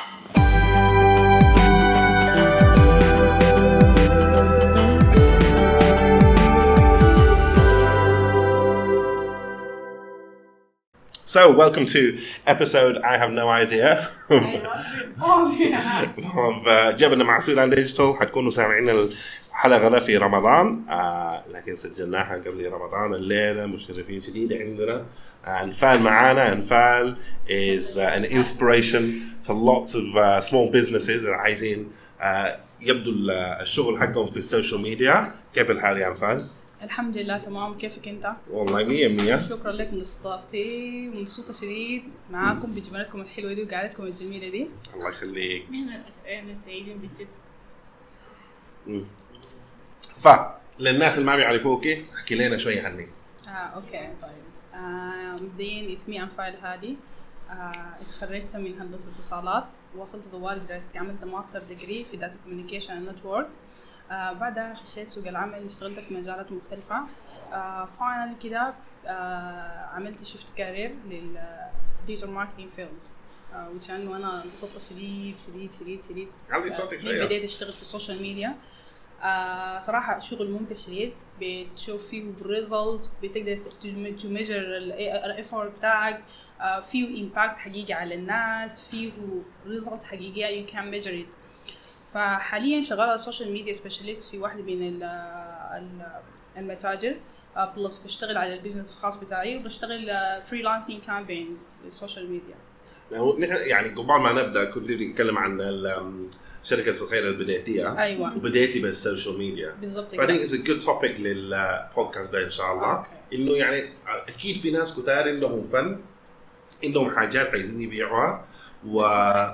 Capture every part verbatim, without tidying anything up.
So, welcome to episode I have no idea of جبنا مع سودان ديجيتال. حتكونوا سامعين الحلقة ده في رمضان، آه لكن سجلناها قبل رمضان. الليلة مشرفين شديد عندنا أنفال معانا. أنفال is uh, an inspiration to lots of uh, small businesses اللي عايزين uh, يبدو الشغل حقهم في السوشيال ميديا. كيف الحال يا أنفال؟ الحمد لله تمام. كيفك انت؟ والله مية مية. شكرا لك من استضافتي ومبسوطه شديد معاكم بجمالتكم الحلوه دي وقعدتكم الجميله دي. الله يخليك. انا سعيدين بجد. ف للناس اللي ما بيعرفوكي احكي لنا شويه عنك. اه اوكي طيب. آه مبدئيا اسمي أنفال هادي. آه اتخرجت من هندسه اتصالات، وصلت طوال دراستي، عملت ماستر ديجري في داتا كوميونيكيشن اند نتورك. آه بعدها خشيت سوق العمل، اشتغلت في مجالات مختلفة. آه فاينل كده آه عملت شفت كارير للديجيتال ماركتينج فيلد، آه وكأنه أنا انبسطت شديد شديد شديد شديد. عندي صوتك شوية. بديت أشتغل في السوشيال ميديا. آه صراحة شغل ممتع شديد، بتشوف فيه ريزلت، بتقدر تو ميجر الإفورت بتاعك، آه فيه إمباكت حقيقي على الناس، فيه ريزلت حقيقية you can measure it. فحاليا شغالة سوشيال ميديا سبيشاليست في واحدة من المتاجر، بلس بشتغل على البيزنس الخاص بتاعي، وبشتغل فريلانسينج كامبينز للسوشيال ميديا. نحن يعني قبل ما نبدا كنت نتكلم عن الشركة الصغيرة اللي بديتيها. أيوة. وبديتي بالسوشيال ميديا. بالضبط. I think it's a good topic للبودكاست ده إن شاء الله. okay. إنه يعني أكيد في ناس كتار عندهم فن، عندهم حاجات عايزين يبيعوها و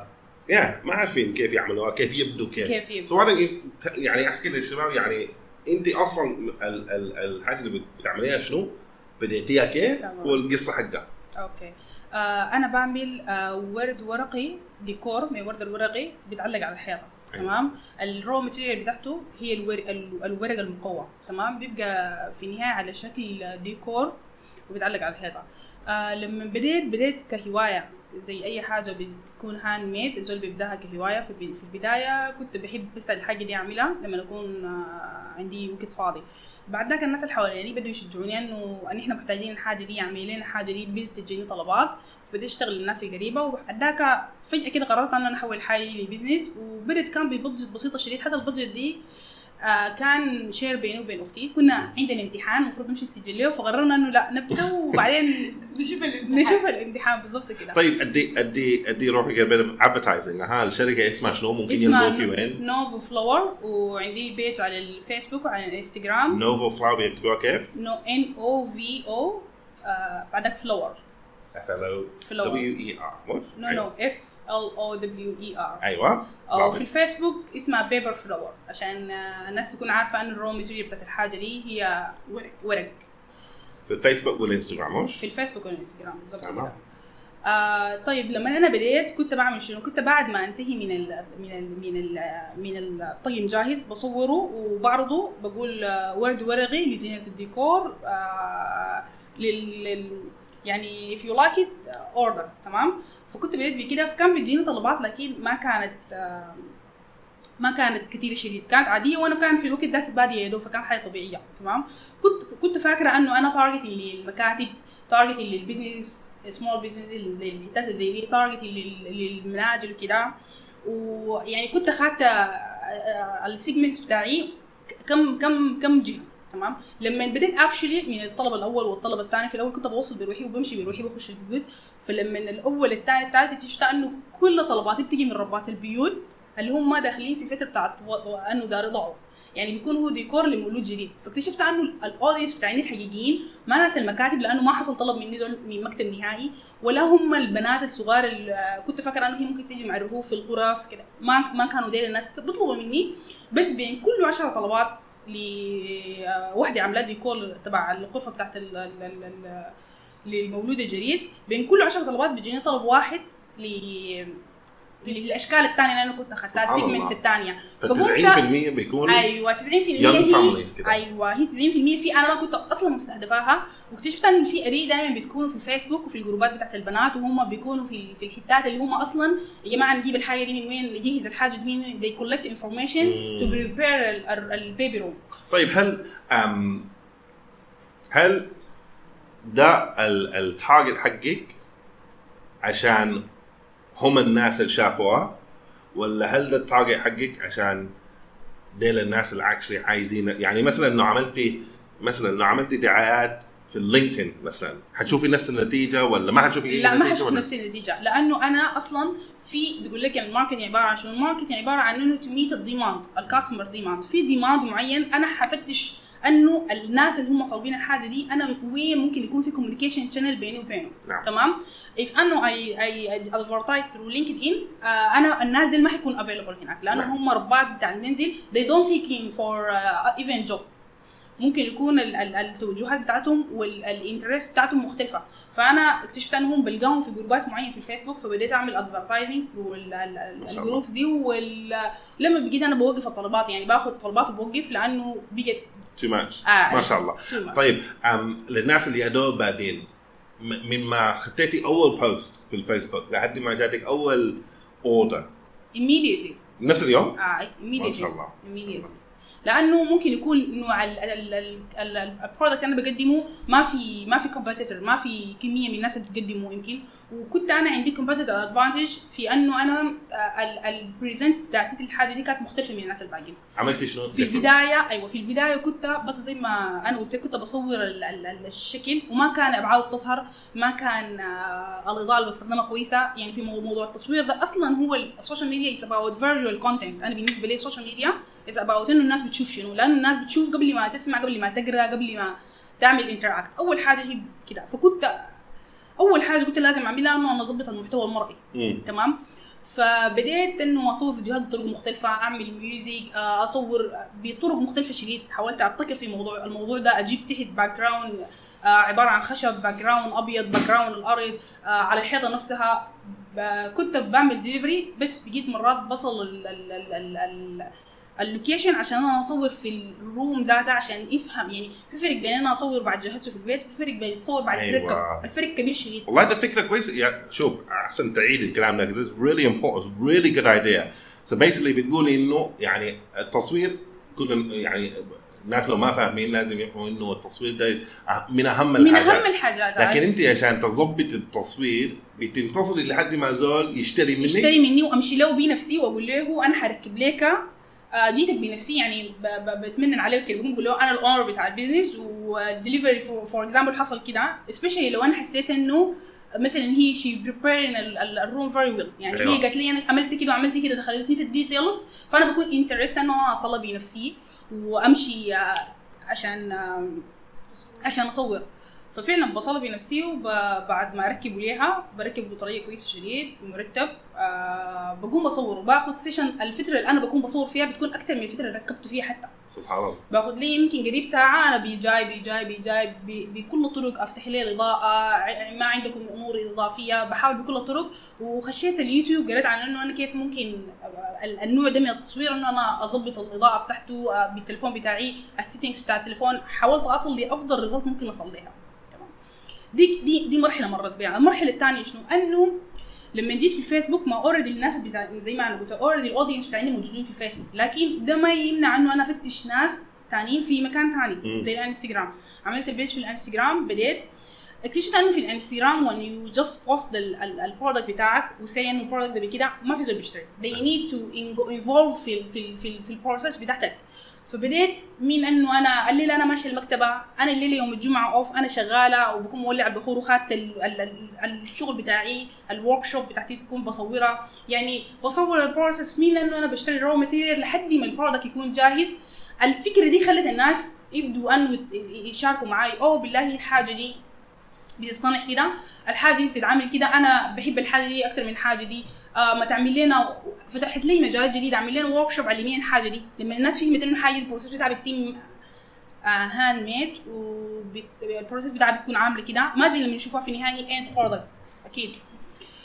يا ما عارفين كيف يعملوها، كيف يبدوا كيف كيف يبدوا. سواء يعني احكي للشباب يعني انت اصلا ال ال الحاجه اللي بتعمليها شنو، بديتيها كيف والقصه حقها. اوكي. آه انا بعمل آه ورد ورقي، ديكور من الورد الورقي بيتعلق على الحيطه. أيوة. تمام. الرو ماتيريال بتاعته هي الورق الورق المقوى. تمام. بيبقى في النهايه على شكل ديكور وبيتعلق على الحيطه. آه لما بديت بديت كهوايه زي اي حاجه بتكون هاند ميد، الزول بيبداها كهوايه. في في البدايه كنت بحب بس الحاجه دي اعملها لما اكون عندي وقت فاضي. بعد ذاك الناس اللي حواليني بدوا يشجعوني انه ان احنا محتاجين الحاجه دي، اعملي لنا الحاجه دي، بدت تجيني طلبات، فبديت اشتغل للناس القريبه. وبعد ذاك فجاه كده قررت ان انا احول حالي لبزنس، وبدت كان ببادجت بسيطه شديد. حتى البادجت دي آه كان شير بيني وبين اختي. كنا عندنا امتحان المفروض نمشي نسجل له، فقررنا انه لا نبدا وبعدين نشوف الامتحان نشوف الامتحان بالضبط كده. طيب ادي ادي ادي روحي قبل ادفرتايزنج. ها الشركه اسمها شنو؟ ممكن يلقوكي وين؟ نوفو فلاور، وعندي بيج على الفيسبوك وعلى الانستغرام. نوفو فلاور بيكتبوها كيف؟ نو ان او في او بعدك فلاور. F L O W E R. نو نو F L O W E R. ايوه. او في الفيسبوك اسمها بيبر فلاور، عشان الناس تكون عارفه ان الرو ماتيريال بتاعت الحاجه دي هي ورق. ورق في الفيسبوك والانستغرام. مش في الفيسبوك والانستغرام بالضبط كده. آه طيب لما انا بديت كنت بعمل شنو؟ كنت بعد ما انتهي من ال من ال من ال من الطقم جاهز بصوره وبعرضه، بقول آه ورد ورقي لزينه الديكور، آه لل يعني if you like it order. تمام. فكنت بديت بكده، فكان بيجيني طلبات لكن ما كانت آه ما كانت كتير شديد، كانت عاديه، وانا كان في الوقت ده في باديه يدو، فكان حاجه طبيعيه. تمام. كنت كنت فاكره انه انا تارجتي للمكاتب، تارجتي للبيزنس، سمول بيزنس، للحتات زي دي، تارجتي للمنازل وكده. ويعني كنت اخذت السيجمنتس بتاعي كم كم كم جهه. تمام. لما بديت اكشلي من الطلب الاول والطلب الثاني، في الاول كنت بوصل بروحي وبمشي بروحي بخش البيوت، فلما الاول الثاني الثالث شفت انه كل طلباتي بتجي من ربات البيوت اللي هم ما داخلين في فتره بتاعت انه دار يضعوا، يعني بيكون هو ديكور لمولود جديد. فاكتشفت انه الاودينس بتاعين الحقيقيين ما ناس المكاتب، لانه ما حصل طلب مني دول من مكتب نهائي، ولا هم البنات الصغار اللي كنت فاكره انه هي ممكن تيجي مع الرفوف في الغرف كده. ما ما كانوا ديل الناس بيطلبوا مني، بس بين كل عشرة طلبات لوحده عامله ديكور تبع الغرفه بتاعت للمولود الجديد، بين كل عشرة طلبات بيجيني طلب واحد ل الاشكال الثانيه اللي انا كنت اخذتها سيجمنتس الثانيه. ف90% بيكونوا ايوه تسعين بالمية هي ايوه هي تسعين بالمية في انا ما كنت اصلا مستهدفاها، واكتشفت ان في اري دائما بتكونوا في الفيسبوك وفي الجروبات بتاعت البنات، وهم بيكونوا في في الحتات اللي هم اصلا يا جماعه نجيب الحاجه دي من وين، نجهز الحاجه دي من وين. they collect information to prepare البيبي روم. طيب هل أم هل ده التارجت حقك عشان هم الناس اللي شافوها، ولا هل ده التارجت حقك عشان ديل الناس اللي اكشلي عايزين؟ يعني مثلا انه عملتي مثلا انه عملتي دعايات في اللينكدين مثلا، حتشوفي نفس النتيجه ولا ما حتشوفي اي لا نتيجه؟ ما حشوف نفس النتيجه، لانه انا اصلا في بيقول لك الماركتنج عباره عن شنو. الماركتنج عباره عن انه تو ميت الديماند، الكاستمر ديماند. في ديماند معين انا حفتش انه الناس اللي هم طالبين الحاجه دي انا وين ممكن يكون في كوميونيكيشن شانل بيني وبينهم. نعم. تمام. if انه اي اي ادفرتايز ثرو لينكد ان، انا الناس دي ما حيكون افيلبل هناك، لانه نعم. هم ربات بتاع المنزل they don't thinking for uh, even job. ممكن يكون التوجهات بتاعتهم والانترست بتاعتهم مختلفه. فانا اكتشفت انهم بلقاهم في جروبات معينه في الفيسبوك، فبديت اعمل ادفرتايزنج ثرو الجروبس دي. ولما بقيت انا بوقف الطلبات، يعني باخذ طلبات وبوقف لانه بقت تو ماتش. آه ما شاء الله. طيب أم للناس اللي ادوب بعدين، من ما خطيتي اول بوست في الفيسبوك لحد ما جاتك اول اوردر immediately نفس اليوم؟ اه immediately ما شاء الله. immediately. لانه ممكن يكون نوع البرودكت انا بقدمه ما في ما في كومبيتيتور، ما في كميه من الناس اللي بتقدمه يمكن. وكنت انا عندي كومبيتيتور ادفانتج في انه انا البريزنت بتاعت الحاجه دي كانت مختلفه من الناس الباقيين. عملتي شنو في البدايه؟ ايوه في البدايه كنت بس زي ما انا قلت كنت بصور الشكل، وما كان ابعاد تظهر، ما كان الاضاءه اللي بستخدمها كويسه. يعني في موضوع التصوير ده اصلا هو السوشيال ميديا is about visual content. انا بالنسبه لي السوشيال ميديا is about انه الناس بتشوف شنو، لانه الناس بتشوف قبل ما تسمع، قبل ما تقرا، قبل ما تعمل انتراكت. اول حاجه هي كده. فكنت اول حاجه قلت لازم اعملها انه انا اظبط المحتوى المرئي. مم. تمام. فبديت انه اصور فيديوهات بطرق مختلفه، اعمل ميوزك، اصور بطرق مختلفه شديد. حاولت ابتكر في موضوع الموضوع ده، اجيب تحت باك جراوند عباره عن خشب، باك جراوند ابيض، باك جراوند الارض، على الحيطه نفسها. كنت بعمل ديليفري، بس بقيت مرات بصل ال ال ال ال ال اللوكيشن عشان انا اصور في الروم ذاتها، عشان يفهم. يعني في فرق بين انا اصور بعد جهزته في البيت، وفي فرق بين اتصور بعد أيوة. تركب. الفرق كبير شديد. والله ده فكره كويسه. يعني شوف احسن تعيد الكلام ده. this is really important, really good idea. so basically بتقولي انه يعني التصوير كنا يعني الناس لو ما فاهمين لازم يفهموا انه التصوير ده من اهم الحاجات. من اهم الحاجات. لكن انت عشان تظبط التصوير بتنتظري لحد ما زول يشتري مني يشتري مني وامشي له بنفسي واقول له انا حركب لك جيتك بنفسي. يعني بتمنن عليه كده، بقول له انا الاونر بتاع البيزنس. ودليفري فور اكزامبل حصل كده، سبيشالي لو انا حسيت انه مثلا هي شي بريبيرين الروم فيري ويل. يعني أيوة. هي قالت لي انا عملت كده وعملت كده، دخلتني في الديتيلز، فانا بكون انترست انه انا اصلي بنفسي وامشي عشان عشان اصور. ففعلا بصلي بنفسي، وبعد ما اركب ليها بركب بطريقه كويسه شديد ومرتب. أه بقوم بصور وباخذ سيشن. الفتره اللي انا بكون بصور فيها بتكون اكثر من الفتره اللي ركبت فيها حتى. سبحان الله. باخذ لي يمكن قريب ساعه انا بيجاي بيجاي بيجاي بكل الطرق، افتح لي الاضاءه، ما عندكم امور اضافيه، بحاول بكل الطرق. وخشيت اليوتيوب قريت عن انه انا كيف ممكن النوع ده من التصوير انه انا اضبط الاضاءه بتاعته بالتليفون بتاعي، السيتنجز بتاع التليفون. حاولت اصل لافضل ريزلت ممكن اصل لها. دي دي دي مرحله مرت بها. المرحله الثانيه شنو؟ انه لما جيت في الفيسبوك، ما اوريدي الناس بتاع زي ما انا قلت اوريدي الاودينس بتاعي موجودين في الفيسبوك، لكن ده ما يمنع انه انا افتش ناس ثانيين في مكان ثاني زي الانستغرام. عملت البيج في الانستغرام، بديت اكتشفت انه في الانستغرام when you just post البرودكت بتاعك وسي انه البرودكت ده بكده ما في زول بيشتري. they need to involve في في في, في البروسيس بتاعتك. فبديت من انه انا الليله انا ماشيه المكتبه، انا الليله يوم الجمعه اوف، انا شغاله وبكون مولع البخور وخدت الشغل بتاعي، الورك شوب بتاعتي بكون بصورها. يعني بصور البروسيس من انه انا بشتري رو ماتيريال لحد ما البرودكت يكون جاهز. الفكره دي خلت الناس يبدوا انه يشاركوا معي. او بالله الحاجه دي بتصنع كده، الحاجه دي بتتعامل كده، انا بحب الحاجه دي اكتر من الحاجه دي. آه ما تعمل لنا، فتحت لي مجالات جديده، اعمل لنا ورك شوب علميا الحاجه دي. لما الناس فهمت انه الحاجه البروسيس بتاعها بتتم آه هاند ميد، والبروسيس بتاعها بتكون عامله كده، ما زي لما نشوفها في النهايه اند برودكت. اكيد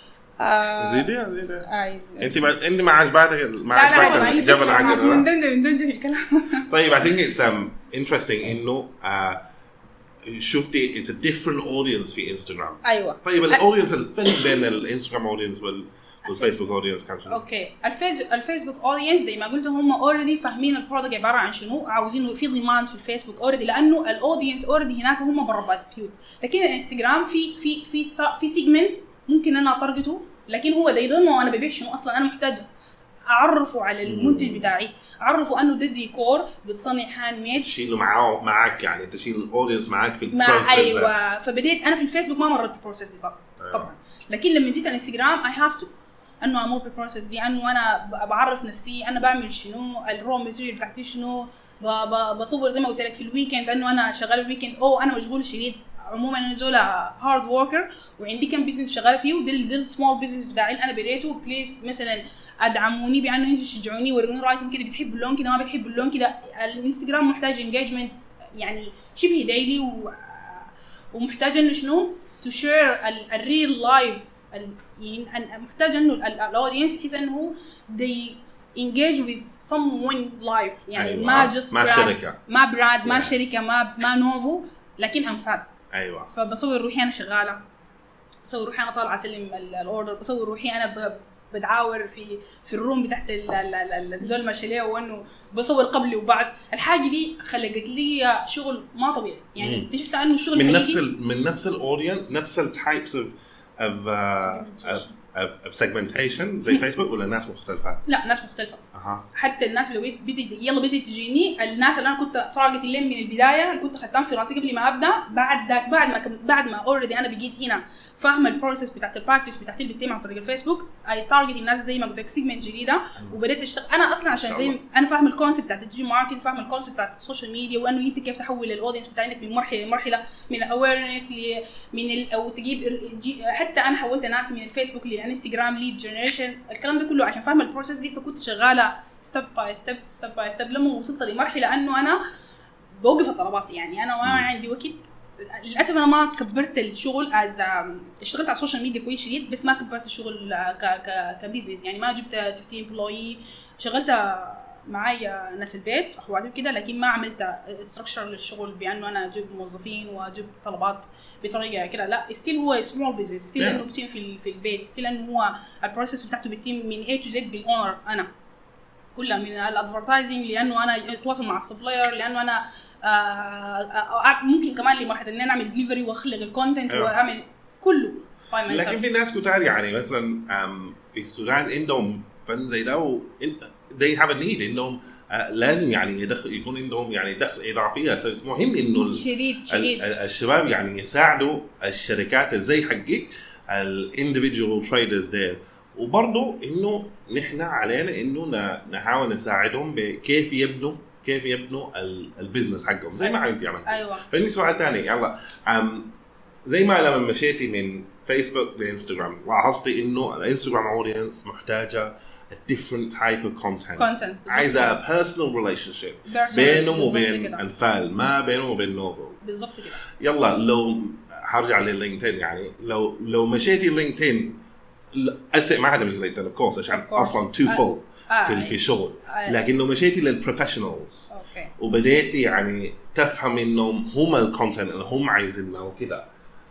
آه زيدي زيدي آه انت ما انت ما عجبتك ما لا لا عجبك جبل عقل. مندمج مندمج في الكلام. طيب I think it's um, interesting انه uh, شفتي it's a different audience في انستغرام. ايوه. طيب الاودينس الفرق بين الانستغرام اودينس وال والفيسبوك اودينس كان شنو؟ اوكي الفيس الفيسبوك اودينس زي ما قلت هم اوريدي فاهمين البرودكت عباره عن شنو، عاوزينه في ضمان في الفيسبوك اوريدي لانه الاودينس اوريدي هناك هم برا بيوت. لكن الانستغرام في في في في سيجمنت ممكن انا اطرقته، لكن هو ده يضمنه انا ببيع شنو اصلا. انا محتاج اعرفه على المنتج بتاعي، اعرفه انه ده ديكور بتصنع هاند ميد، تشيله معاه معك يعني تشيل الاودينس معك في البروسيس. ايوه فبديت انا في الفيسبوك ما مرت بالبروسيس دي طبعا، لكن لما جيت على الانستغرام اي هاف تو انه امور بالبروسيس دي، انه انا بعرف نفسي انا بعمل شنو، الرو ماتيريال بتاعتي شنو، بصور زي ما قلت لك في الويكند انه انا شغال الويكند او انا مشغول شديد. عموما انا زولا هارد وركر وعندي كم بيزنس شغاله فيه، وده ده السمول بيزنس بتاعي اللي انا بديته. بليز مثلا ادعموني بانه انتوا تشجعوني، وروني رايكم كده، بتحبوا اللون كده ما بتحبوا اللون كده. الانستغرام محتاج انجيجمنت يعني شبه دايلي، و... ومحتاج انه شنو تو شير الريل لايف، محتاج انه الاودينس يحس انه they engage with someone life يعني. أيوة. ما just ما شركه ما براند ما yes. شركه ما ما نوفو، لكن انفاد. ايوه فبصور روحي انا شغاله، بصور روحي انا طالعه اسلم الاوردر، بصور روحي انا بدعاور في في الروم بتاعت الزول ماشيليه، وانه بصور قبل وبعد. الحاجه دي خلقت لي شغل ما طبيعي يعني. اكتشفت انه الشغل من نفس ال من نفس الاودينس، نفس التايبس اوف اوف اوف سيجمنتيشن زي فيسبوك، ولا ناس مختلفه؟ لا ناس مختلفه. أه. حتى الناس اللي بدي يلا بدي تجيني، الناس اللي انا كنت تارجت لهم من البدايه، اللي كنت خدتهم في راسي قبل ما ابدا، بعد داك بعد ما بعد ما اوريدي انا بقيت هنا فاهمه البروسيس بتاعت البارتيز بتاعت اللي بتتم عن طريق الفيسبوك. اي تارجت الناس زي ما قلت لك سيجمنت جديده، وبديت اشتغل انا اصلا عشان زي انا فاهم الكونسيبت بتاعت الديجيتال ماركتنج، فاهم الكونسيبت بتاعت السوشيال ميديا، وانه انت كيف تحول الاودينس بتاعك من مرحله لمرحله، من الاويرنس ل من ال او تجيب حتى انا حولت ناس من الفيسبوك للانستغرام ليد جنريشن، الكلام ده كله عشان فاهم البروسيس دي. فكنت شغاله ستيب باي ستيب ستيب باي ستيب لما وصلت لمرحله انه انا بوقف الطلبات يعني. انا ما عندي وقت للاسف، انا ما كبرت الشغل از اشتغلت على السوشيال ميديا كويس شديد، بس ما كبرت الشغل ك ك كبيزنس يعني. ما جبت تحتي امبلوي، شغلت معايا ناس البيت اخواتي كده، لكن ما عملت ستراكشر للشغل بانه انا اجيب موظفين واجيب طلبات بطريقه كده. لا ستيل هو سمول بيزنس، ستيل انه بتم في في البيت، ستيل انه هو البروسيس بتاعته بتم من A to Z بالاونر انا كلها، من الادفرتايزنج لانه انا اتواصل مع السبلاير، لانه انا آه ممكن كمان لمرحله ان انا اعمل ديليفري واخلق الكونتنت واعمل كله. لكن في ناس كتار يعني مثلا في السودان عندهم فن زي ده، و they have a need انهم لازم يعني يدخل يكون عندهم يعني دخل اضافيه. مهم انه شديد شديد الشباب يعني يساعدوا الشركات زي حقك الانديفيدوال تريدرز ديل، وبرضه انه نحن علينا انه نحاول نساعدهم بكيف يبنوا كيف يبنوا البيزنس حقهم زي ما عملتي عملتي. ايوه. فاني سؤال ثاني يلا، زي ما لما مشيتي من فيسبوك لانستغرام لاحظتي انه الانستغرام اودينس محتاجه a different type of content. content. عايزة personal relationship بينهم وبين الفعل، ما بينهم وبين نوفل. بالضبط كده. يلا لو هرجع للينكدين يعني، لو لو مشيتي لينكدين أسئ ما حدا مشي لينكدين of course عشان أصلاً too full آه. في في الشغل، آه. لكن لو مشيتي للبروفيشنالز وبديتي يعني تفهم إنهم هم الكونتنت اللي هم عايزينه وكده.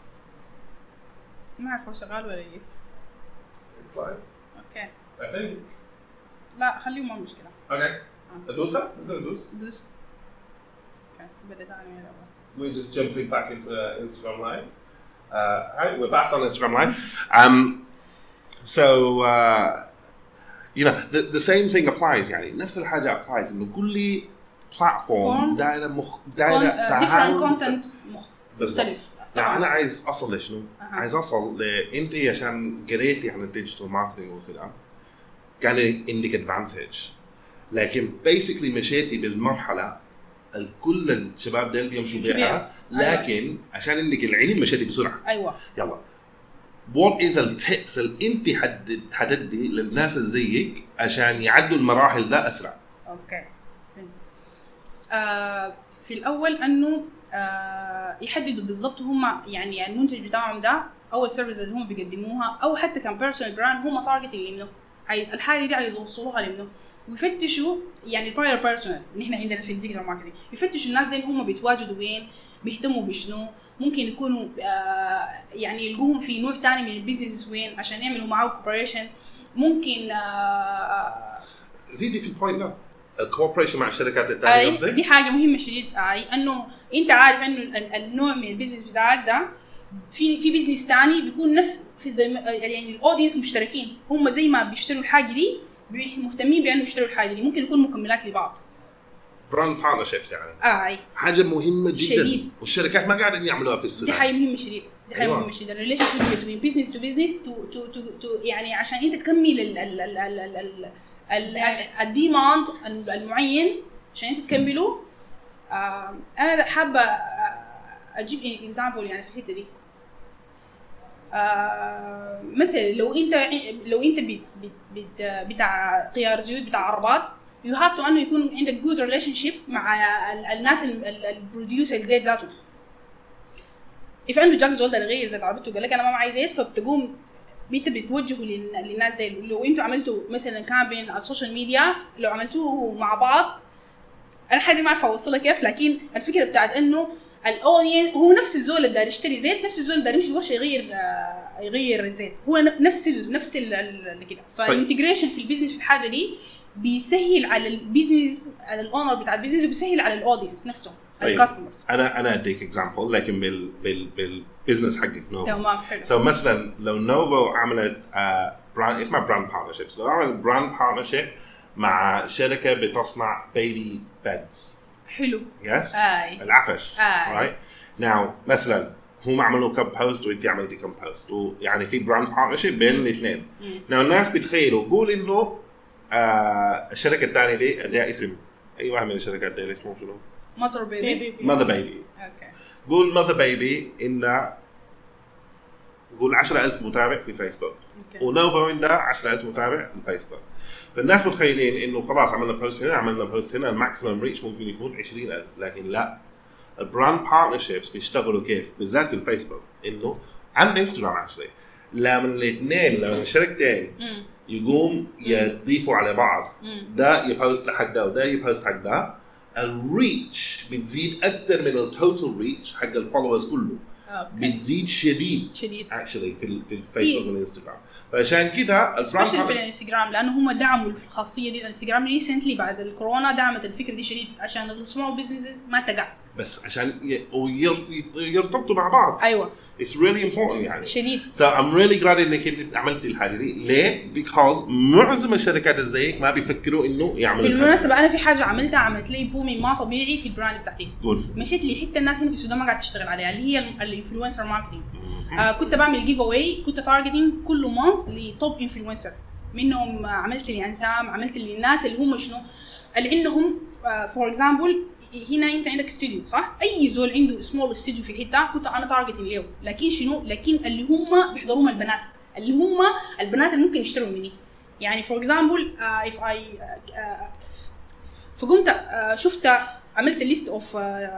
ما أعرف هو شغال ولا كيف. It's live. Okay. I think. لا خليه ما مشكلة. Okay. أدوسه؟ نقدر ندوس؟ دوس. Okay. بدأت أنا من الأول. We're just jumping back into Instagram Live. Uh, hi, we're back on Instagram Live. Um, so uh, you know the the same thing applies يعني نفس الحاجة applies إنه كل platform دايرة مخ دايرة different content مختلف. يعني أنا عايز أصل لشنو؟ أه. عايز أصل لأنت عشان قريتي عن الديجيتال ماركتينج وكذا كان عندك advantage، لكن basically مشيتي بالمرحلة الكل الشباب ديل بيمشوا بيها، لكن أيوة. عشان عندك العلم مشيتي بسرعة. أيوة. يلا what is the tips اللي أنت حدد حددي للناس اللي زيك عشان يعدوا المراحل ده أسرع؟ أوكي. آه في الأول أنه آه يحددوا بالضبط هم يعني المنتج بتاعهم ده او السيرفيسز اللي هم بيقدموها او حتى كان بيرسونال براند هم تارجتنج لمنه، الحاجه دي عايز يوصلوها لمنه، ويفتشوا يعني البراير بيرسونال اللي احنا عندنا في الديجيتال ماركتنج، يفتشوا الناس دي هم بيتواجدوا وين، بيهتموا بشنو، ممكن يكونوا آه يعني يلقوهم في نوع تاني من البيزنس وين عشان يعملوا معاه كوبريشن. ممكن آه زيدي في البوينت ده الكوبريشن مع الشركات الثانيه قصدك؟ آه دي حاجه مهمه شديد، آه انه انت عارف انه النوع من البيزنس بتاعك ده في في بيزنس ثاني بيكون نفس في يعني الاودينس مشتركين، هم زي ما بيشتروا الحاجه دي مهتمين بانه يشتروا الحاجه دي، ممكن يكون مكملات لبعض، براند بارتنرشيبس يعني اه اي حاجه مهمه جدا شديد. والشركات ما قاعدين يعملوها في السودان. دي حاجه مهمه شديد، دي حاجه أيوة. مهمه شديد، الريليشن شيب بين بزنس تو بزنس تو تو تو يعني عشان انت تكمل ال ال ال ال ال الديماند المعين عشان انت تكمله. آه انا حابه اجيب اكزامبل يعني في الحته دي. آه مثلا لو انت لو انت بت بت بتاع قيار زيوت بتاع عربات، you have to انه يكون عندك good relationship مع الناس البروديوسر الزيت ذاته. if عنده جاك زول ده غير زيت عربته قال لك انا ما معي زيت، فبتقوم انت بتوجهه للناس دي. لو انتوا عملتوا مثلا كامبين على السوشيال ميديا، لو عملتوه مع بعض، انا حاجه ما اعرف اوصلها كيف، لكن الفكره بتاعت انه الاودين هو نفس الزول اللي داير يشتري زيت، نفس الزول اللي داير يمشي الورشه يغير آه يغير الزيت، هو نفس ال نفس ال كده. فالانتجريشن في البيزنس في الحاجه دي بيسهل على البيزنس، على الاونر بتاع البيزنس، وبيسهل على الاودينس نفسهم الكاستمرز. انا انا اديك اكزامبل لكن بال بال بالبزنس حقك نوفو. تمام حلو. سو so مثلا لو نوفو عملت آه براند اسمها براند بارتنرشيبس، لو عملت براند بارتنرشيب مع شركه بتصنع بيبي بيدز. حلو. يس. آي. العفش. آي. رايت ناو مثلا هم عملوا كم بوست وانت عملتي كم بوست، ويعني في براند بارتنرشيب بين الاثنين. ناو الناس بتخيلوا قول انه آه الشركه الثانيه دي لها اسم، اي واحد من الشركات دي اسمه شنو؟ ماذر بيبي. ماذر بيبي. اوكي. قول ماذر بيبي إن قول عشرة ألف متابع في فيسبوك، ونوفو عنده عشرة ألف متابع في الفيسبوك، فالناس متخيلين إنه خلاص عملنا بوست هنا عملنا بوست هنا الماكسيمم ريتش ممكن يكون عشرين ألف، لكن لا، البراند بارتنرشيبس بيشتغلوا كيف بالذات في الفيسبوك، إنه عند انستغرام عشرة لما الاثنين لما الشركتين يقوم يضيفوا على بعض، ده يبوست لحق ده وده يبوست حق ده، الريتش بتزيد اكثر من التوتال ريتش حق الفولورز كله. أوكي. بتزيد شديد شديد اكشلي في في الفيسبوك والانستغرام. فعشان كده سبيشال في الانستغرام، لانه هم دعموا الخاصيه دي. الانستغرام ريسنتلي بعد الكورونا دعمت الفكره دي شديد عشان السمول بزنسز ما تقع، بس عشان يرتبطوا مع بعض. ايوه it's really important يعني شديد. so I'm really glad انك انت عملتي الحاجه دي. ليه؟ because معظم الشركات زيك ما بيفكروا انه يعملوا. بالمناسبه انا في حاجه عملتها عملت لي بومي ما طبيعي في البراند بتاعتي. قول. مشيت لي حته الناس هنا في السودان ما قاعده تشتغل عليها، اللي هي الانفلونسر ماركتنج. آه كنت بعمل جيف اواي، كنت تارجتنج كل مانث لتوب انفلونسر، منهم عملت لي انسام، عملت لي الناس اللي هم شنو اللي عندهم فور اكزامبل. هنا انت عندك استوديو صح، اي زول عنده سمول استوديو في حته كنت انا تارجتنج له، لكن شنو، لكن اللي هم بيحضروهم البنات، اللي هم البنات اللي ممكن يشتروا مني. يعني فور اكزامبل اف اي فقمت uh, شفت عملت ليست اوف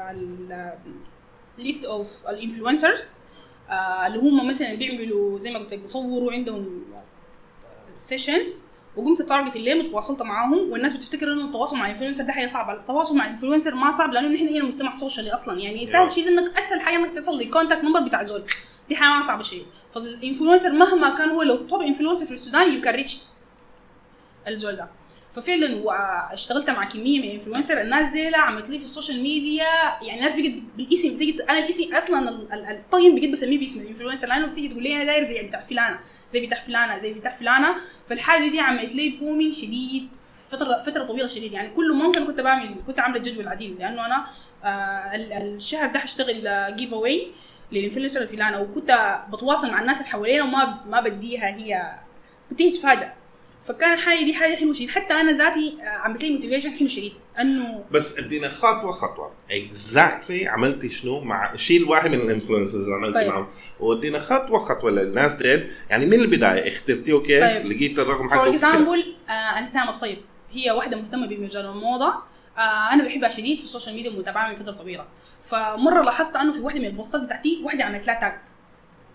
ليست اوف الانفلونسرز اللي هم مثلا بيعملوا زي ما قلت لك بيصوروا عندهم سيشنز، وقمت تارجت اللي متواصلت معاهم. والناس بتفتكر انه التواصل مع الانفلونسر ده حاجه صعبه، التواصل مع الانفلونسر ما صعب، لانه نحن هنا مجتمع سوشيالي اصلا، يعني سهل شيء انك اسهل حاجه انك تصل للكونتاكت نمبر بتاع زول، دي حاجه ما صعبه شيء. فالانفلونسر مهما كان هو لو توب انفلونسر في السودان يو كان ريتش الزول ده. ففعلا اشتغلت مع كميه من الانفلونسر، الناس دي لا عملت لي في السوشيال ميديا، يعني الناس بقت بالاسم، بتيجي انا الاسم اصلا الطين بقيت بسميه باسم الانفلونسر، لانه بتيجي تقول لي انا داير زي بتاع فلانه زي بتاع فلانه زي بتاع فلانه. فالحاجه دي عملت لي بومينج شديد فتره فتره طويله شديد. يعني كل منصه كنت بعمل كنت عامله جدول عديل، لانه انا آه الشهر ده هشتغل جيف اواي للانفلونسر الفلانه، وكنت بتواصل مع الناس اللي حوالينا وما ما بديها هي، كنت تتفاجئ. فكان الحاجه دي حاجه حلوه شديد، حتى انا ذاتي عملت لي موتيفيشن حلو شديد انه بس ادينا خطوه خطوه اكزاكتلي عملتي شنو مع شيء واحد من الانفلونسرز عملتي طيب. معهم، وادينا خطوه خطوه للناس ديل، يعني من البدايه اخترتيه كيف طيب. لقيت الرقم حقه. فور اكزامبل انسام الطيب هي واحده مهتمه بمجال الموضه، آه انا بحبها شديد في السوشيال ميديا ومتابعها من فتره طويله. فمره لاحظت انه في واحده من البوستات بتاعتي واحده عملت لها تاج،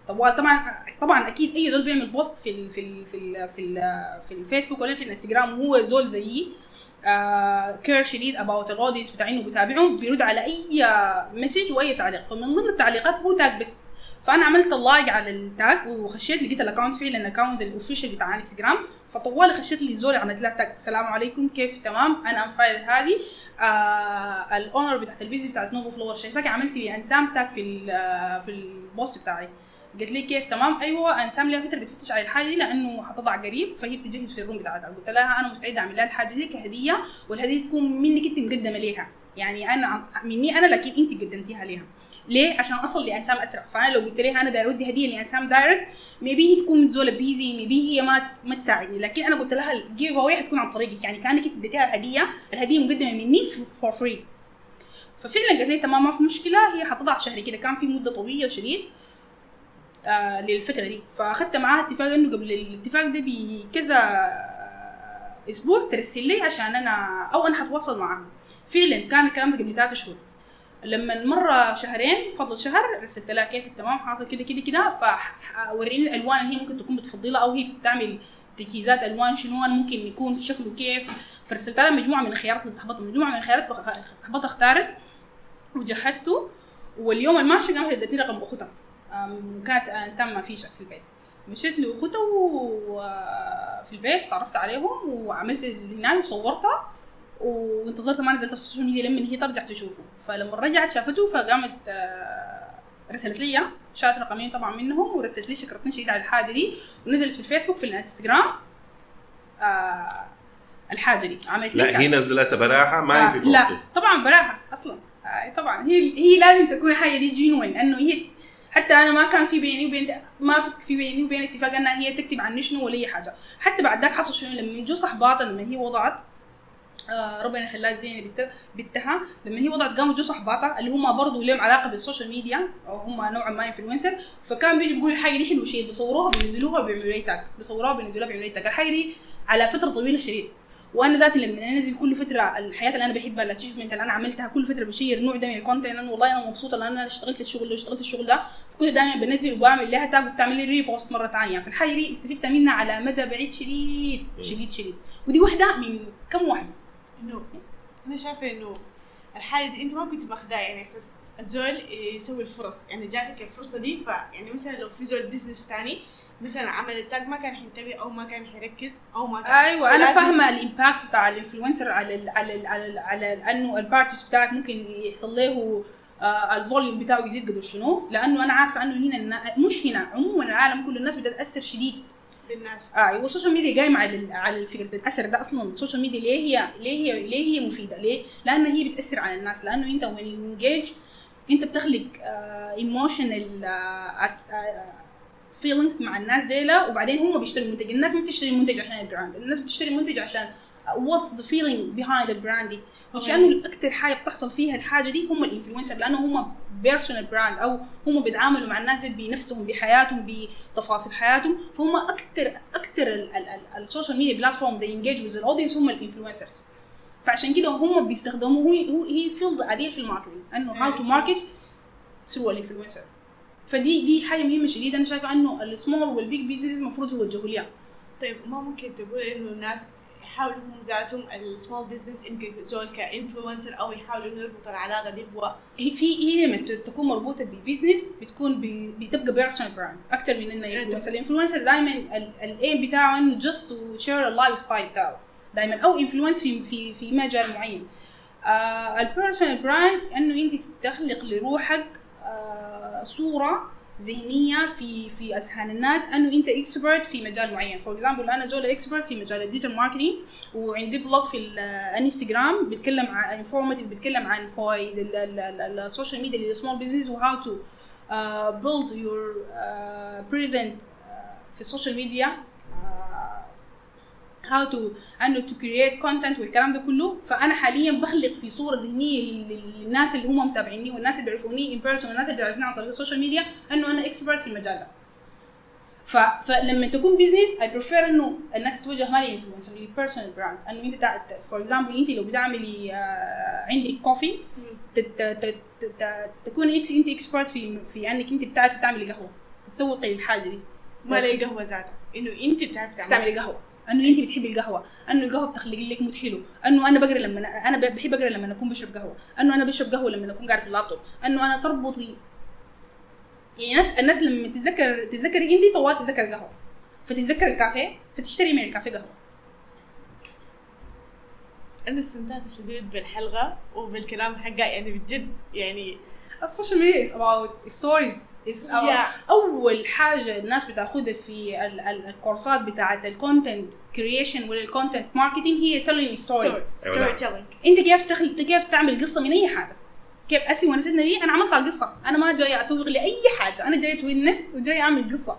طبعا طبعا طبعا اكيد اي زول بيعمل بوست في ال في ال في ال في, ال في الفيسبوك ولا في الانستغرام وهو زول زيي آه كير شديد اباوت الاودينس بتاع انه بتابعهم، بيرد على اي مسج واي تعليق. فمن ضمن التعليقات هو تاج بس، فانا عملت اللايك على التاج وخشيت لقيت الاكونت فعلا الاكونت الاوفيشال بتاع انستغرام. فطوالي خشيت لي زول عملت لها تاج السلام عليكم كيف تمام انا ام فايل هذه آه الاونر بتاعت البيزنس بتاعت نوفو فلور شايفاك عملت لي انسام تاج في في البوست بتاعي. قلت لي كيف تمام ايوه انسام لها فتره بتفتش على الحاجه دي لانه حتضع قريب فهي بتجهز في الروم بتاعتها. قلت لها انا مستعده اعمل لها الحاجه دي كهديه والهديه تكون منك انت مقدمه ليها، يعني انا مني انا لكن انت قدمتيها ليها. ليه؟ عشان اصل لانسام اسرع. فانا لو قلت لها انا داير اودي هديه لانسام دايركت ميبي هي تكون زوله بيزي، ميبي هي ما ما تساعدني، لكن انا قلت لها الجيف اواي حتكون عن طريقك، يعني كانك انت اديتيها هديه، الهديه مقدمه مني فور فري. ففعلا قالت لي تمام ما في مشكله، هي حتضع شهري كده، كان في مده طويله شديد آه للفتره دي. فاخذت معاها اتفاق انه قبل الاتفاق ده بكذا اسبوع ترسل لي عشان انا او انا حتواصل معاها. فعلا كان الكلام ده قبل ثلاثة شهور. لما مره شهرين فضل شهر رسلت لها كيف التمام حاصل كده كده كده، فوريني الالوان اللي هي ممكن تكون بتفضلها او هي بتعمل تجهيزات الوان شنو ممكن يكون شكله كيف. فرسلت لها مجموعه من الخيارات لصاحبتها، مجموعه من الخيارات فصاحبتها اختارت وجهزته. واليوم الماشي قامت ادتني رقم اختها، كانت انسان ما فيش في البيت. مشيت لاختها في البيت تعرفت عليهم وعملت هناك وصورتها وانتظرت ما نزلت في السوشيال ميديا لما هي ترجع تشوفه. فلما رجعت شافته فقامت رسلت لي شات رقمين طبعا منهم ورسلت لي شكرتني شديد على الحاجه دي، ونزلت في الفيسبوك في الانستغرام آه الحاجه دي عملت لي. لا هي نزلتها براحه ما آه لا طبعا براحه اصلا آه طبعا هي هي لازم تكون الحاجه دي جينوين، انه هي حتى انا ما كان في بيني وبين ما في بيني وبين اتفاق انها هي تكتب عني شنو ولا اي حاجه. حتى بعد ذاك حصل شنو لما جو صحباتها لما هي وضعت آه ربنا يخليها زينه بنت بنتها لما هي وضعت قاموا جو صحباتها اللي هم برضه لهم علاقه بالسوشيال ميديا او هم نوعا ما انفلونسر، فكان بيجي بيقول الحاجه دي حلوه شيء بيصوروها بينزلوها وبيعملوا لها تاج، بيصوروها وبينزلوها وبيعملوا لها تاج. الحاجه دي على فتره طويله شديد، وانا ذاتي لما انزل كل فتره الحياه اللي انا بحبها الاتشيفمنت اللي انا عملتها كل فتره بشير نوع ده من الكونتنت، انا والله انا مبسوطه لان انا اشتغلت الشغل ده واشتغلت الشغل ده، فكنت دائما بنزل وبعمل لها تاج وبتعمل لي ريبوست مره ثانيه. فالحاجه دي استفدت منها على مدى بعيد شديد شديد شديد، ودي واحده من كم واحده. انه انا شايفه انه الحاله دي انت ما كنت ماخذها يعني اساس الزول يسوي الفرص، يعني جاتك الفرصه دي، فيعني مثلا لو في زول بزنس ثاني مثلا عمل التاج ما كان حينتبه او ما كان حيركز او ما كان ايوه انا فاهمه الامباكت بتاع الانفلونسر على ال على ال على ال على ال انه البارتيز بتاعك ممكن يحصل له آه الفوليوم بتاعه يزيد قدر شنو، لانه انا عارفه انه هنا مش هنا عموما العالم كل الناس بتتاثر شديد بالناس. اه والسوشيال ميديا قايمه على على فكره الأثر ده اصلا. السوشيال ميديا ليه هي ليه هي ليه هي مفيده؟ ليه؟ لانه هي بتاثر على الناس، لانه انت وين انجيج انت بتخلق ايموشنال فيلينجز مع الناس ديلا، وبعدين هم بيشتروا المنتج. الناس ما بتشتري المنتج عشان البراند، الناس بتشتري المنتج عشان what's the feeling behind the brand دي، وشانه اكثر حاجه بتحصل فيها الحاجه دي هم الانفلونسر، لانه هم بيرسونال براند او هم بيتعاملوا مع الناس بنفسهم بحياتهم بتفاصيل حياتهم، فهم اكثر اكثر السوشيال ميديا بلاتفورم they engage with the audience هم الانفلونسرز. فعشان كده هم بيستخدموا هو هي فيلد عديل في الماركتينج، انه how to market through الانفلونسر. فدي دي حاجه مهمه شديده، انا شايفه انه السمول والبيج بيزنس المفروض يوجهوا لها. طيب ما ممكن تقول انه الناس يحاولوا هم ذاتهم السمول بزنس يمكن زول كانفلونسر او يحاولوا انه يربطوا العلاقه دي هو في هي لما تكون مربوطه ببيزنس بتكون بتبقى بيرسونال براند اكثر من انه انفلونسر. الانفلونسر دائما الايم بتاعه انه جاست تو شير اللايف ستايل بتاعه دائما، او انفلونس في في في مجال معين. آه البيرسونال براند انه انت تخلق لروحك آه صوره ذهنيه في في اذهان الناس انه انت اكسبرت في مجال معين. فور اكزامبل انا زول اكسبرت في مجال الديجيتال ماركتينج، وعندي بلوج في الانستغرام بيتكلم عن انفورماتيف، بيتكلم عن فوائد السوشيال ميديا للسمول بزنس وهاو تو بيلد يور بريزنت في السوشيال ميديا، how to انه to create content والكلام ده كله. فانا حاليا بخلق في صوره ذهنيه للناس اللي هم متابعيني والناس اللي بيعرفوني in person والناس اللي بيعرفوني عن طريق السوشيال ميديا انه انا expert في المجال ده. ف... فلما تكون بزنس I prefer انه الناس تتوجه ما لي influencer لي personal brand، انه انت تع... for example انت لو بتعملي آه عندك كوفي ت... ت... ت... ت... تكون انت expert في في انك انت بتعرفي تعملي قهوه تسوقي للحاجه دي. ما لي قهوه ذاتها، انه انت بتعرفي تعملي قهوه، انه انت بتحبي القهوه، انه القهوه بتخلق لك مود حلو، انه انا بقرا لما انا بحب اقرا لما اكون بشرب قهوه، انه انا بشرب قهوه لما اكون قاعد في اللابتوب، انه انا تربطي يعني الناس الناس لما تتذكر تتذكري انت طوال تتذكر قهوه، فتتذكر الكافيه فتشتري من الكافيه قهوه. انا استمتعت شديد بالحلقه وبالكلام حقها، يعني بجد يعني السوشيال ميديا is about stories is about yeah. أول حاجة الناس بتاخدها في ال ال الكورسات بتاعة الكونتنت كرييشن ولا الكونتنت ماركتينج هي telling story story telling. أنت كيف تخل كيف تعمل قصة من أي حاجة، كيف أسي ونستنا دي أنا عملت القصة، أنا ما جاي أسوق لأي حاجة، أنا جاي توينس وجاي أعمل قصة.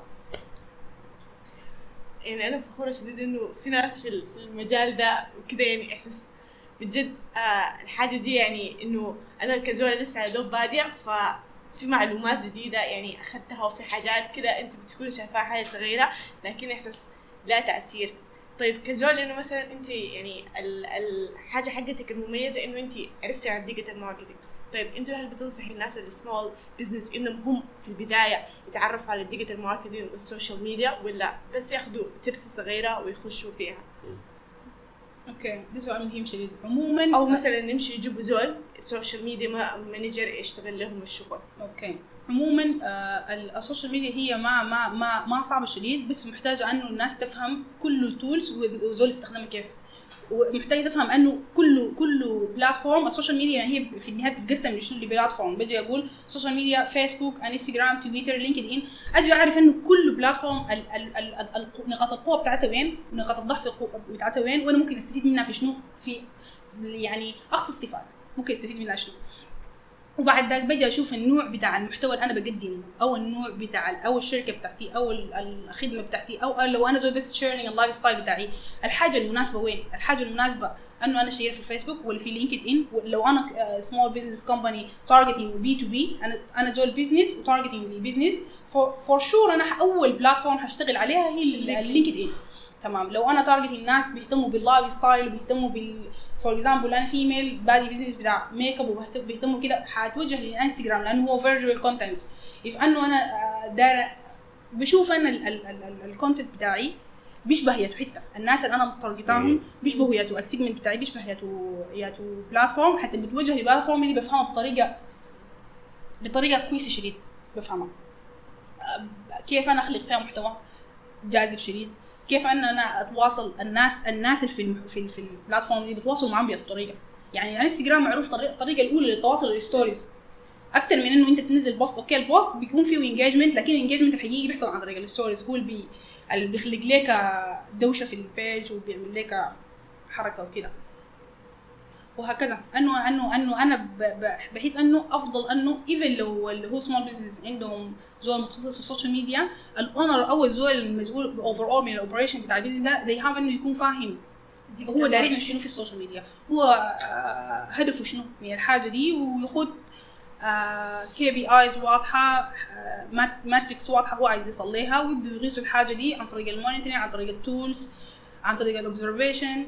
يعني أنا فخورة شديد إنه في ناس في المجال ده وكده، يعني إحساس بجد آه الحاجة دي، يعني إنه أنا كزولة لسه على دوب بادية، ففي معلومات جديدة يعني أخذتها، وفي حاجات كده أنت بتكون شايفاها حاجة صغيرة لكن إحساس لا تأثير. طيب كزولة إنه مثلا أنت يعني الحاجة حقتك المميزة إنه أنت عرفتي عن ديجيتال ماركتينج، طيب أنت هل بتنصحي الناس السمول بزنس إنهم هم في البداية يتعرفوا على الديجيتال ماركتينج والسوشيال ميديا، ولا بس ياخدوا تيبس صغيرة ويخشوا فيها؟ اوكي ده سؤال مهم شديد. عموما او مثلا نمشي يجيبوا زول سوشيال ميديا مانجر يشتغل لهم الشغل. اوكي عموما آه السوشيال ميديا هي ما ما ما ما صعبه شديد، بس محتاجه انه الناس تفهم كل تولز وزول استخدامها كيف، ومحتاجه تفهم انه كل كل بلاتفورم السوشيال ميديا هي في النهايه بتتقسم لشنو لبلاتفورم. بجي اقول سوشيال ميديا فيسبوك انستغرام تويتر لينكد ان، اجي اعرف انه كل بلاتفورم ال ال ال نقاط القوه بتاعتها وين ونقاط الضعف بتاعتها وين، وانا ممكن استفيد منها في شنو، في يعني اقصى استفاده ممكن استفيد منها شنو. وبعد ذلك بجي اشوف النوع بتاع المحتوى اللي انا بقدمه، او النوع بتاع او الشركه بتاعتي او الخدمه بتاعتي، او لو انا زول بس شيرنج اللايف ستايل بتاعي، الحاجه المناسبه وين؟ الحاجه المناسبه انه انا شير في الفيسبوك ولا في لينكد ان. لو انا سمول بزنس كومباني تارجتنج بي تو بي، انا انا زول بزنس وتارجتنج بزنس، فور شور انا اول بلاتفورم هشتغل عليها هي اللينكد ان. تمام. لو انا تارجتنج ناس بيهتموا باللايف ستايل وبيهتموا بال فور اكزامبل انا فيميل بادي بزنس بتاع ميك اب وبيهتموا كده، حاتوجه للانستغرام لانه هو فيرجوال كونتنت. اف انه انا داير بشوف انا الكونتنت بتاعي بيشبه ياتو حته الناس اللي انا متارجتاهم، بيشبهوا ياتو السيجمنت بتاعي، بيشبه ياتو ياتو بلاتفورم، حتى بتوجه لبلاتفورم اللي بفهمها بطريقه بطريقه كويسه شديد بفهمها. كيف انا اخلق فيها محتوى جاذب شديد، كيف ان انا اتواصل الناس الناس اللي في في في البلاتفورم دي بتواصل معاهم بهذه الطريقه. يعني الانستغرام معروف طريقه الطريقه الاولى للتواصل الستوريز اكثر من انه انت تنزل بوست. اوكي البوست بيكون فيه انجيجمنت، لكن الانجيجمنت الحقيقي بيحصل عن طريق الستوريز، هو اللي بي اللي بيخلق لك دوشه في البيج وبيعمل لك حركه وكده وهكذا. انه انه انه انا بحس انه افضل انه ايفن لو اللي هو سمول بزنس عندهم زول متخصص في السوشيال ميديا، الاونر او الزول المسؤول اوفر اول من الاوبريشن بتاع البيزنس ده they have انه يكون فاهم هو داير يعمل شنو في السوشيال ميديا، هو آه هدفه شنو من الحاجه دي، وياخذ كي بي ايز واضحه، آه ماتريكس واضحه هو عايز يصليها، ويبدأ يغيسوا الحاجه دي عن طريق المونيتورنج، عن طريق التولز، عن طريق الاوبزرفيشن،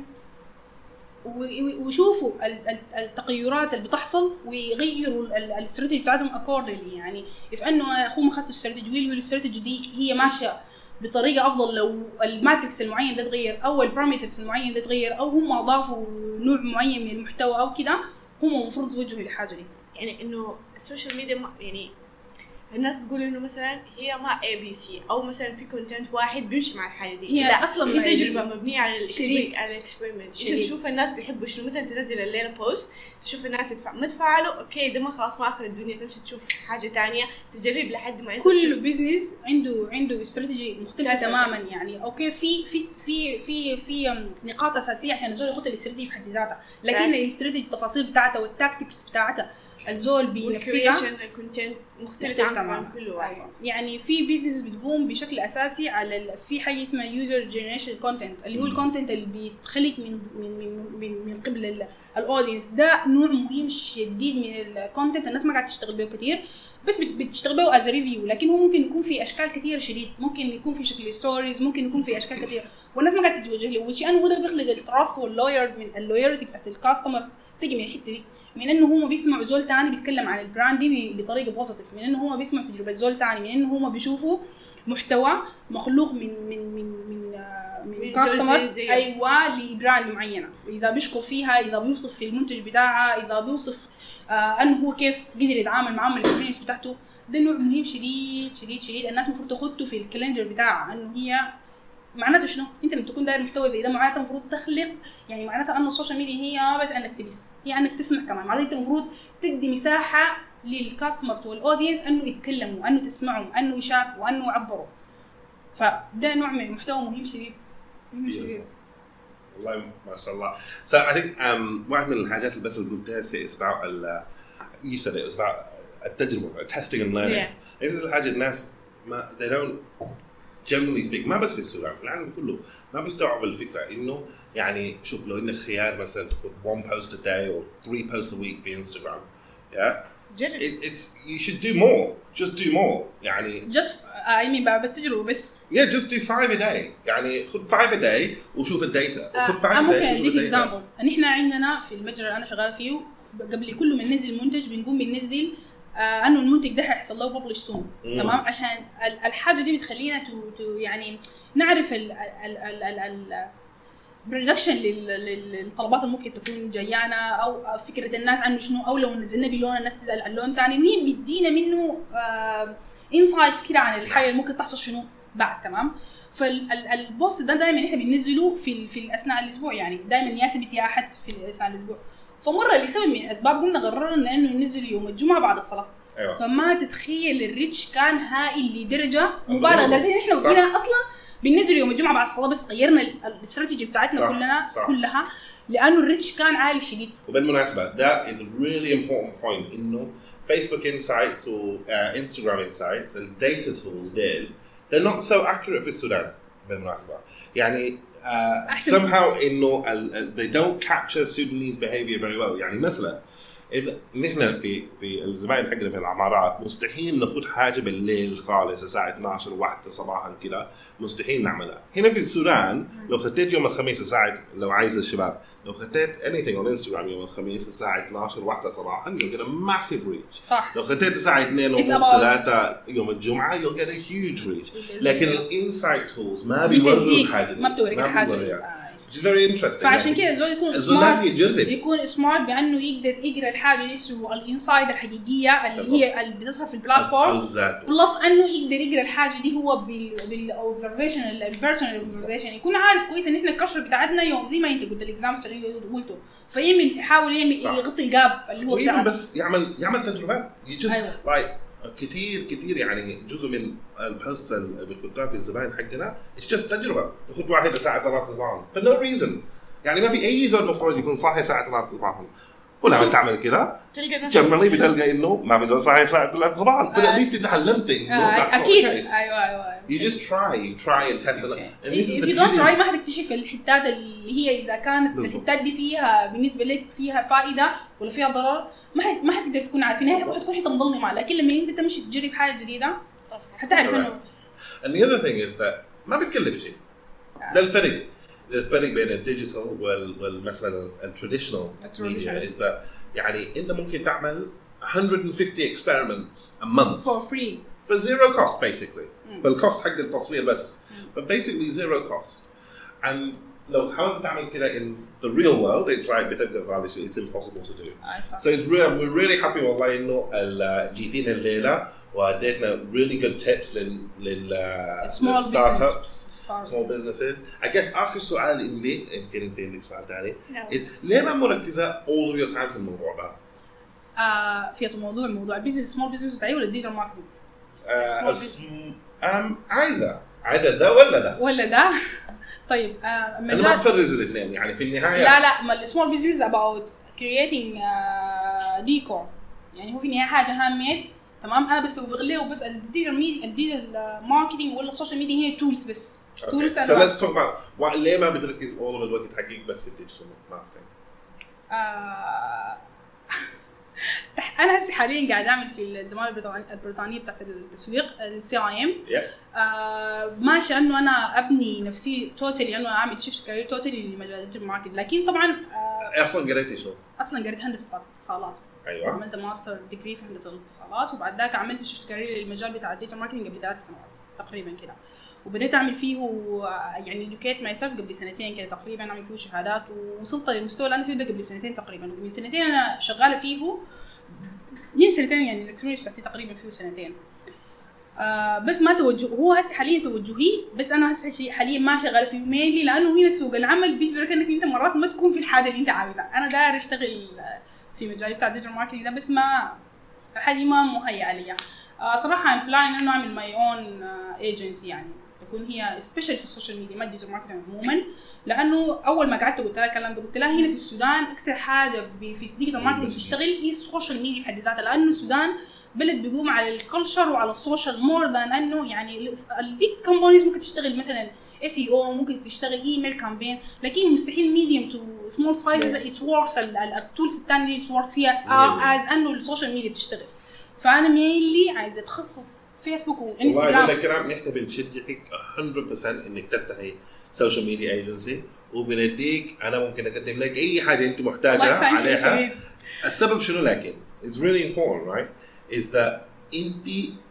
ويشوفوا التغيرات اللي بتحصل ويغيروا الاستراتيجي بتاعتهم اكوردلي. يعني اف انه هم اخذوا الاستراتيجي ويل الاستراتيجي دي هي ماشيه بطريقه افضل، لو الماتريكس المعين ده اتغير او البارامترز المعين ده اتغير او هم اضافوا نوع معين من المحتوى او كده، هم المفروض يتوجهوا للحاجه دي. يعني انه السوشيال ميديا يعني الناس بيقولوا انه مثلا هي ما اي بي سي، او مثلا في كونتنت واحد بيمشي مع الحاجه دي، هي اصلا هي تجربه مبنيه على الاكسبيرمنت. انت تشوف الناس بيحبوا شنو، مثلا تنزل الليله بوست تشوف الناس يدفع ما تفعلوا اوكي ده ما خلاص ما اخر الدنيا، تمشي تشوف حاجه تانية تجرب لحد ما انت كل بيزنس عنده عنده استراتيجي مختلفه تماما. يعني اوكي في في في في في نقاط اساسيه عشان الزول يحط الاستراتيجي في حد ذاتها، لكن الاستراتيجي التفاصيل بتاعتها والتاكتكس بتاعتها الزول بينفذها، الكونتنت مختلف عن كل واحد. يعني في بيزنس بتقوم بشكل اساسي على في حاجه اسمها يوزر جنريشن كونتنت، اللي هو الكونتنت اللي بيتخلق من من من من, من قبل الاودينس. ده نوع مهم شديد من الكونتنت، الناس ما قاعده تشتغل به كتير، بس بتشتغل به از ريفيو، لكن هو ممكن يكون في اشكال كتير شديد، ممكن يكون في شكل ستوريز، ممكن يكون في اشكال كتير. والناس ما قاعده تتوجه له، وشي انه ده بيخلق التراست واللوير من اللويرتي بتاعت الكاستمرز تيجي من الحته دي، من انه هم بيسمعوا زول تاني بيتكلم عن البراند دي بطريقه بوزيتيف، من انه هم بيسمعوا تجربه زول تاني، من انه هم بيشوفوا محتوى مخلوق من من من من من كاستمرز ايوه لبراند معينه، اذا بيشكر فيها، اذا بيوصف في المنتج بتاعها، اذا بيوصف آه انه هو كيف قدر يتعامل معهم الاكسبيرينس بتاعته. ده نوع مهم شديد شديد شديد الناس المفروض تاخده في الكالندر بتاعها، انه هي معناته شنو؟ انت لما تكون داير محتوى زي ده معناته المفروض تخلق، يعني معناتها انه السوشيال ميديا هي بس انك تبث، هي انك تسمع كمان، معناتها انت المفروض تدي مساحه للكاستمرز والاودينس انه يتكلموا، انه تسمعوا، انه يشاركوا، انه يعبروا. فده نوع من المحتوى مهم شديد مهم شديد والله ما شاء الله. So I think um, واحد من الحاجات اللي بس اللي قلتها سي اسمع ال you said it اسمع التجربة testing and learning. Yeah. هذه الحاجة الناس ما they don't generally speak ما بس في السودان في العالم كله ما بيستوعبوا الفكرة إنه يعني شوف لو إنك خيار مثلا تاخذ one post a day or three posts a week في Instagram yeah جرب. It, it's you should do more just do more يعني just I mean بعد التجربة بس yeah just do five a day يعني خذ five a day وشوف الداتا خذ five a day. ممكن أديك إكزامبل. إن إحنا عندنا في المتجر اللي أنا شغال فيه قبل كل ما ننزل منتج بنقوم بننزل آه انه المنتج ده هيحصل له ببلش سون تمام، عشان الحاجه دي بتخلينا تو تو يعني نعرف ال ال ال ال ال برودكشن للطلبات اللي ممكن تكون جايانا، او فكره الناس عنه شنو، او لو نزلنا بلون الناس تزعل عن لون ثاني، وهي بيدينا منه آه انسايتس كده عن الحاجه اللي ممكن تحصل شنو بعد تمام. فالبوست ده دائما احنا بننزله في في اثناء الاسبوع، يعني دائما يثبت يا احد في اثناء الاسبوع. فمره لسبب من الاسباب قلنا قررنا انه ننزل يوم الجمعه بعد الصلاه. أيوة. فما تتخيل الريتش كان هائل لدرجه مبالغه، لدرجه احنا وجينا اصلا بننزل يوم الجمعه بعد الصلاه، بس غيرنا الاستراتيجي بتاعتنا صح. كلنا صح. كلها لانه الريتش كان عالي شديد. وبالمناسبه that is a really important point انه Facebook insights و uh, Instagram insights and data tools ديل they're not so accurate في السودان بالمناسبه، يعني uh, somehow انه uh, they don't capture Sudanese behavior very well. يعني مثلا إذا نحن في في الزباين حقنا في العمارات مستحيل ناخذ حاجه بالليل خالص الساعه اثناشر واحدة صباحا كده، مستحيل نعملها. هنا في السودان لو خديت يوم الخميس الساعه لو عايز الشباب لو خديت anything on Instagram يوم الخميس الساعه اثناشر واحدة صباحا you'll get a massive reach. صح. لو خديت الساعه اثنين ونص ثلاثة يوم الجمعه you'll get a huge reach. لكن الانسايت تولز ما بيوروا حاجه، ما بتوريك حاجه. It's very interesting. فعشان كده الزول يكون سمارت، يكون سمارت بانه يقدر يقرا الحاجه دي سو الانسايد الحقيقيه اللي بالضبط. هي اللي بتظهر في البلاتفورم، بلس انه يقدر يقرا الحاجه دي هو بال بالاوبزرفيشن البيرسونال اوبزرفيشن، يكون عارف كويس ان احنا الكشف بتاعتنا يوم زي ما انت قلت الاكزامبل اللي قلته، فيعمل يحاول يعمل صح. يغطي الجاب اللي هو بتاعه، بس يعمل يعمل تجربات يجس أيوة. like كتير كتير يعني جزء من البوست اللي بيخدها في الزباين حقنا it's just تجربه. تاخذ واحده ساعه ثلاث صباحا for no reason، يعني ما في اي زول مفترض يكون صاحي ساعه ثلاث صباحا، ولما تعمل كده جنرالي بتلقى انه ما في زول صاحي ساعه ثلاث صباحا، but at least انت علمت انه that's not the case. ايوه ايوه you just try you try and test and this is the if you don't try ما حتكتشف الحتات اللي هي اذا كانت الحتات دي فيها بالنسبه لك فيها فائده ولا فيها ضرر ما ما حتقدر تكون عارفين، هي حتكون حته مظلمه، لكن لما انت تمشي تجرب حاجه جديده حتعرف انه. and the other thing is that ما بتكلف شيء. ده الفرق الفرق بين الديجيتال وال والمثلا التراديشنال media is that يعني انت ممكن تعمل one hundred fifty experiments a month for free for zero cost basically. فالكوست حق التصوير بس but basically zero cost. and لو حاولت تعمل كده in the real world it's like بتبقى غالي شيء it's impossible to do. so it's really we're really happy والله انه جيتين الليله واديتنا really good tips لل لل start ups small businesses. I guess آخر سؤال إني يمكن أنت عندك سؤال تاني ليه ما مركزة all of your time في الموضوع ده؟ آه في الموضوع موضوع البيزنس small business بتاعي ولا الديجيتال ماركتينج؟ um either either ده ولا ده ولا ده. طيب آه أنا ما بفرز الاثنين يعني في النهاية. لا لا ما السمول بيزنس about creating ديكور uh, يعني هو في النهاية حاجة هاند ميد تمام. أنا بس بغليه وبس الديجيتال ميديا الديجيتال ماركتينج ولا السوشيال ميديا هي تولز بس. Okay. tools so let's talk about what ليه ما بتركز all of الوقت حقك بس في الديجيتال ماركتينج؟ آه انا هسه حاليا قاعد اعمل في الزماله البريطانيه البريطانيه بتاعت التسويق السي اي ام. ماشي انه انا ابني نفسي توتالي انه اعمل شيفت كارير توتالي لمجال الديجيتال ماركتنج. لكن طبعا آه اصلا قريتي شو؟ اصلا قريت هندسه بتاعت الاتصالات. ايوه عملت ماستر ديجري في هندسه الاتصالات، وبعد ذاك عملت شيفت كارير للمجال بتاع الديجيتال ماركتنج قبل ثلاث سنوات تقريبا كده، وبديت اعمل فيه يعني educate myself قبل سنتين كده تقريبا، اعمل فيه شهادات ووصلت للمستوى اللي انا فيه ده قبل سنتين تقريبا. ومن سنتين انا شغاله فيه، من سنتين يعني الاكسبيرينس بتاعتي تقريبا فيه سنتين. آه بس ما توجه هو هسه حاليا توجهي، بس انا هسه حاليا ما شغاله فيه مينلي لانه هنا سوق العمل بيجبرك انك انت مرات ما تكون في الحاجه اللي انت عاوزها. انا داير اشتغل في مجال بتاع الديجيتال ماركتنج ده، بس ما الحاجه ما مهيئه لي. آه صراحه ام بلان انه اعمل ماي اون ايجنسي يعني تكون هي سبيشال في السوشيال ميديا، ما الديجيتال ماركتنج عموما. لانه اول ما قعدت قلت لها الكلام ده، قلت لها هنا في السودان اكثر حاجه في الديجيتال ماركتنج تشتغل هي السوشيال ميديا في حد ذاتها، لانه السودان بلد بيقوم على الكلتشر وعلى السوشيال مور ذان انه يعني البيج كومبانيز ممكن تشتغل مثلا اس اي او، ممكن تشتغل ايميل كامبين، لكن مستحيل ميديوم تو سمول سايزز ات وركس التولز الثانيه ات وركس فيها از انه السوشيال ميديا بتشتغل. فانا مينلي عايزه اتخصص فيسبوك وانستغرام. والله الكلام نحن بنشجعك مية بالمية انك تفتحي سوشيال ميديا ايجنسي، وبنديك انا ممكن اقدم لك اي حاجه انت محتاجه عليها. السبب شنو؟ لكن it's really important right is that انت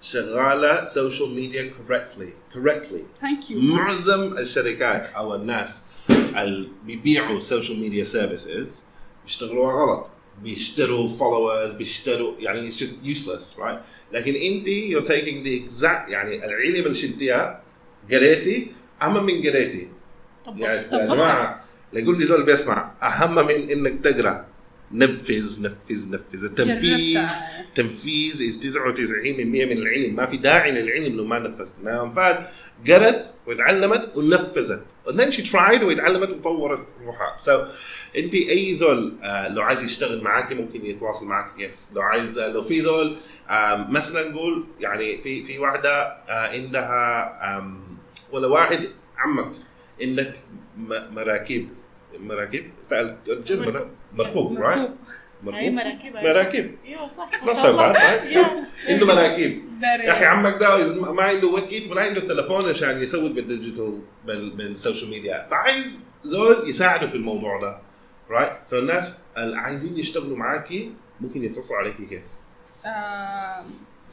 شغاله سوشيال ميديا correctly correctly Thank you. معظم الشركات او الناس اللي بيبيعوا سوشيال ميديا سيرفيسز بيشتغلوها غلط، بيشتروا followers، بيشتروا يعني it's just useless right. لكن انت you're taking the exact يعني العلم اللي شلتيها قريتي اهم من قريتي. يعني يا جماعه لا يقول لي زول بيسمع اهم من انك تقرا، نفذ نفذ نفذ. التنفيذ تنفيذ is تسعة وتسعين بالمية من العلم، ما في داعي للعلم لو ما نفذت. نعم قرت وتعلمت ونفذت and then she tried وتعلمت وطورت روحها. so انت اي زول آه لو عايز يشتغل معاك ممكن يتواصل معك كيف؟ لو عايز لو في زول آه مثلا نقول يعني في في واحده آه عندها ولا واحد عمك عندك مراكب مراكب فالجزمه مركوب رايت مركوب مراكب مراكب ايوه صح ما صار عنده مراكب. يا اخي عمك ده ما عنده وكيل ولا عنده تليفون عشان يسوق بالديجيتال بالسوشيال ميديا، فعايز زول يساعده في الموضوع ده رايت. سو الناس اللي عايزين يشتغلوا معاكي ممكن يتصلوا عليكي كيف؟ آه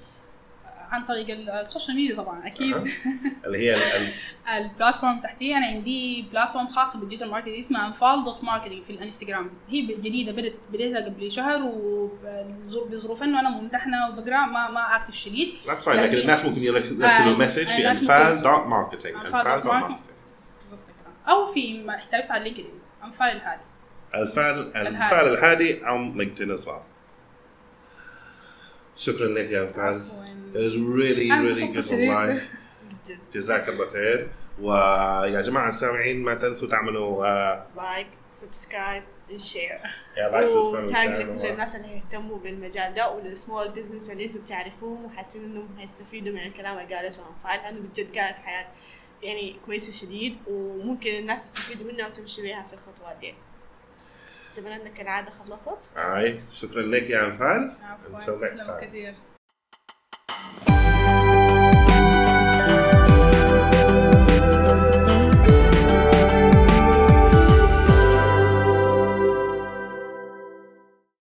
عن طريق السوشيال ميديا طبعا اكيد. أه. اللي هي البلاتفورم تحتي انا عندي بلاتفورم خاصه بالديجيتال ماركتنج اسمها انفال دوت ماركتنج في الانستغرام. هي جديده بدت بديتها قبل شهر، وبظروف انه انا ممتحنه وبقرا ما ما اكتف شديد. لكن, لكن الناس ممكن يرسلوا مسج في انفال دوت ماركتنج او في حسابي على لينكدين انفال الهادي الفال الفال الهادي او لينكدين اصلا. شكرا لك يا انفال. It was really really good والله. جزاك الله خير. ويا جماعة السامعين ما تنسوا تعملوا لايك سبسكرايب شير وتاج لكل الناس اللي يهتموا بالمجال ده وللسمول بزنس اللي انتم بتعرفوهم وحاسين انهم هيستفيدوا من الكلام اللي قالته انفال، لانه بجد قالت حياة يعني كويسة شديد وممكن الناس يستفيدوا منها وتمشي بيها في الخطوات دي. جبنا انك العادة خلصت. اي شكرا لك يا انفال. عفوا.